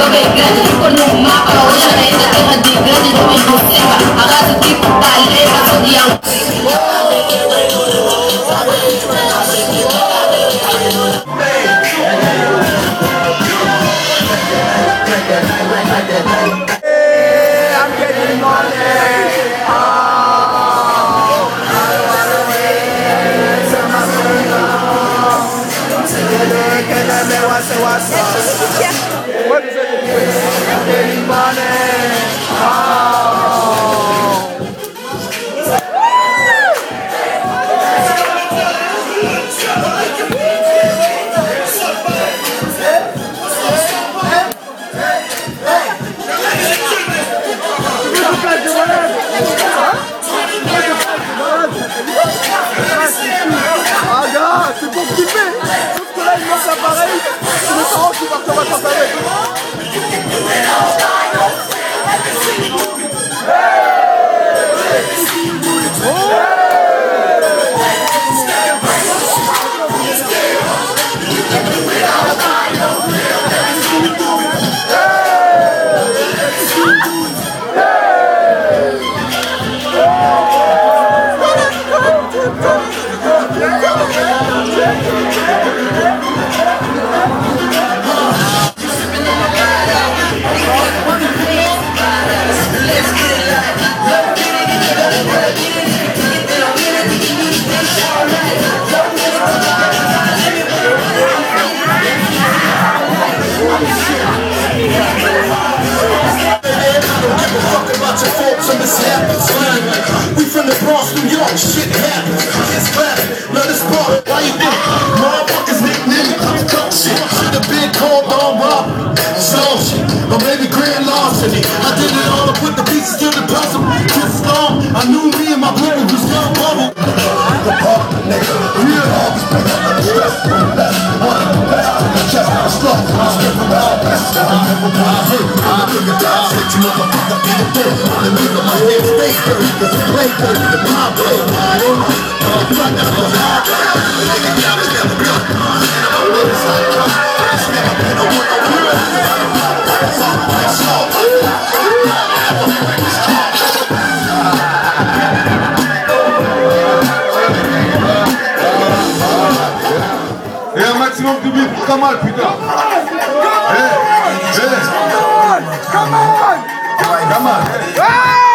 bem grande, ficou no mapa. Hoje a lei da terra de grande, não impossível. Arrasa tipo paleta, sou de I'm getting c'est pour kiffer. Sauf que là, il manque l'appareil. C'est mes parents qui partent en vacances avec. We from the Bronx, New York, shit happens. It's classic, love this part. Why you think motherfuckers nickname me coke shit? Should've been called on Rob, slow shit, or maybe grand larceny. I did it all to put the pieces to the puzzle. Just long, I knew me and my brother was young bubble. The park, nigga, real homies, bring up the stress. One, chest, slow, I'm stripping out, best. I hit, I look at that shit, you motherfucker, in the dirt. Only make my head stay dirty, cause it's play dirty, the my way. Et un maximum de bruit pour Kamal, putain. Kamal.